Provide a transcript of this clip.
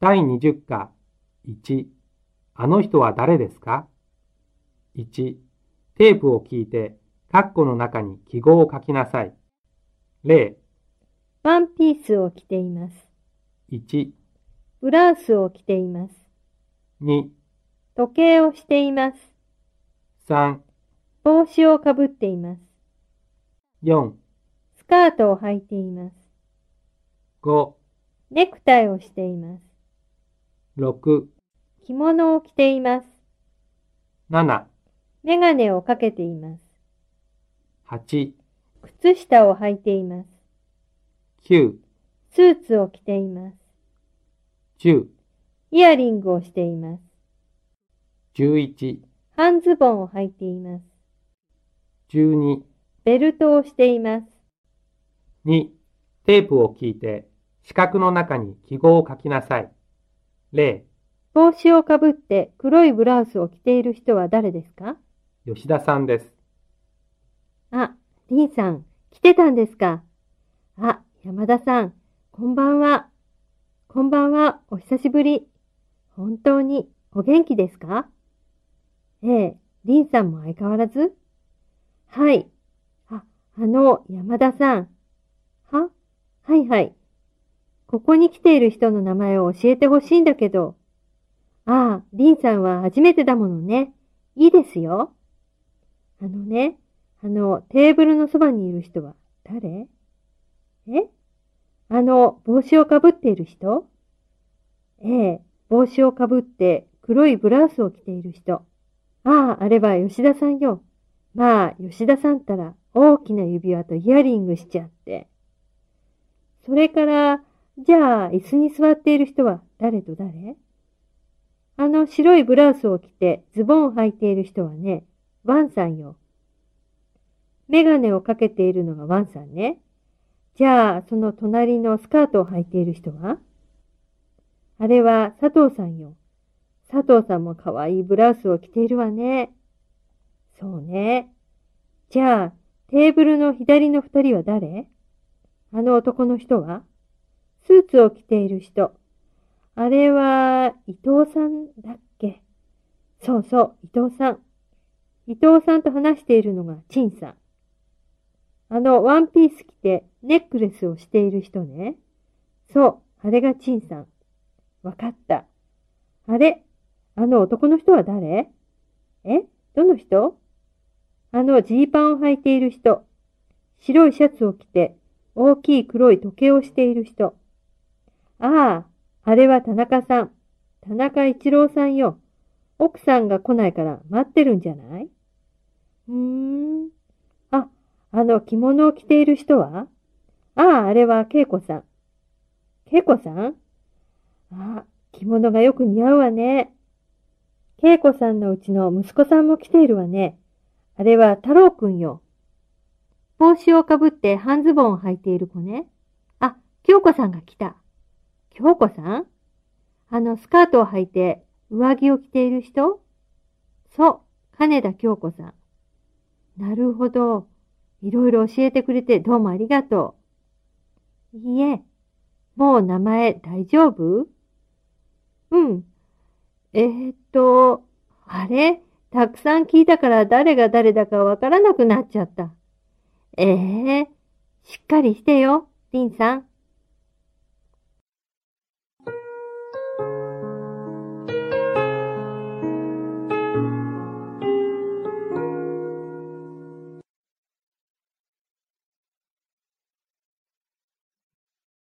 第20課1、あの人は誰ですか？ 1、テープを聞いて、括弧の中に記号を書きなさい。例、 ワンピースを着ています。 1、 ブラウスを着ています。 2、 時計をしています。 3、 帽子をかぶっています。 4、 スカートを履いています。 5、 ネクタイをしています。 6、 着物を着ています。 7、 メガネをかけています。 8、 靴下を履いています。 9、 スーツを着ています。 10、 イヤリングをしています。 11、 半ズボンを履いています。 12、 ベルトをしています。 2、テープを聞いて、四角の中に記号を書きなさい。例、 帽子をかぶって黒いブラウスを着ている人は誰ですか？ 吉田さんです。 あ、リンさん、来てたんですか？あ、山田さん、こんばんは。こんばんは、お久しぶり。本当にお元気ですか？ええ、リンさんも相変わらず？はい。山田さん。はいはい。ここに来ている人の名前を教えてほしいんだけど。ああ、リンさんは初めてだものね。いいですよ。テーブルのそばにいる人は誰？え？帽子をかぶっている人？ええ、帽子をかぶって黒いブラウスを着ている人。ああ、あれは吉田さんよ。まあ、吉田さんったら大きな指輪とイヤリングしちゃって。それから、じゃあ、椅子に座っている人は誰と誰？白いブラウスを着てズボンを履いている人はね、ワンさんよ。メガネをかけているのがワンさんね。じゃあ、その隣のスカートを履いている人は？あれは佐藤さんよ。佐藤さんも可愛いブラウスを着ているわね。そうね。じゃあ、テーブルの左の二人は誰？あの男の人は？スーツを着ている人。あれは、伊藤さんだっけ？そうそう、伊藤さん。伊藤さんと話しているのが陳さん。ワンピース着てネックレスをしている人ね。そう、あれが陳さん。わかった。あれ？あの男の人は誰？え？どの人？ジーパンを履いている人。白いシャツを着て大きい黒い時計をしている人。ああ、あれは田中さん。田中一郎さんよ。奥さんが来ないから待ってるんじゃない？あ、着物を着ている人は？ああ、あれは恵子さん。恵子さん？あ、着物がよく似合うわね。恵子さんのうちの息子さんも来ているわね。あれは太郎くんよ。帽子をかぶって半ズボンを履いている子ね。あ、京子さんが来た。京子さん？スカートを履いて上着を着ている人？そう、金田京子さん。なるほど。いろいろ教えてくれてどうもありがとう。いいえ、もう名前大丈夫？うん。あれ？たくさん聞いたから誰が誰だかわからなくなっちゃった。しっかりしてよ、リンさん。